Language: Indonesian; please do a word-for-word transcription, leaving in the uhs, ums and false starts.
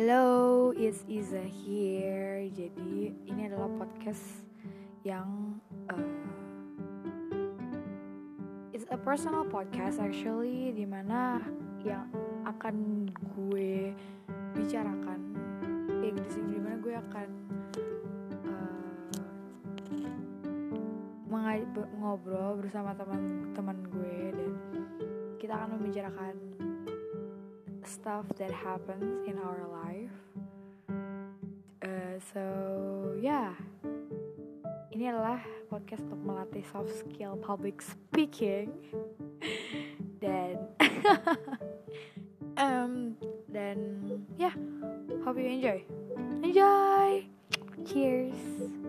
Hello, it's Iza here. Jadi ini adalah podcast yang uh, it's a personal podcast actually, dimana yang akan gue bicarakan, ya di sini dimana gue akan uh, mengaj- ngobrol bersama teman-teman gue dan kita akan membicarakan stuff that happens in our life. Uh, so yeah, ini adalah podcast untuk melatih soft skill public speaking dan um dan yeah, hope you enjoy. Enjoy. Cheers.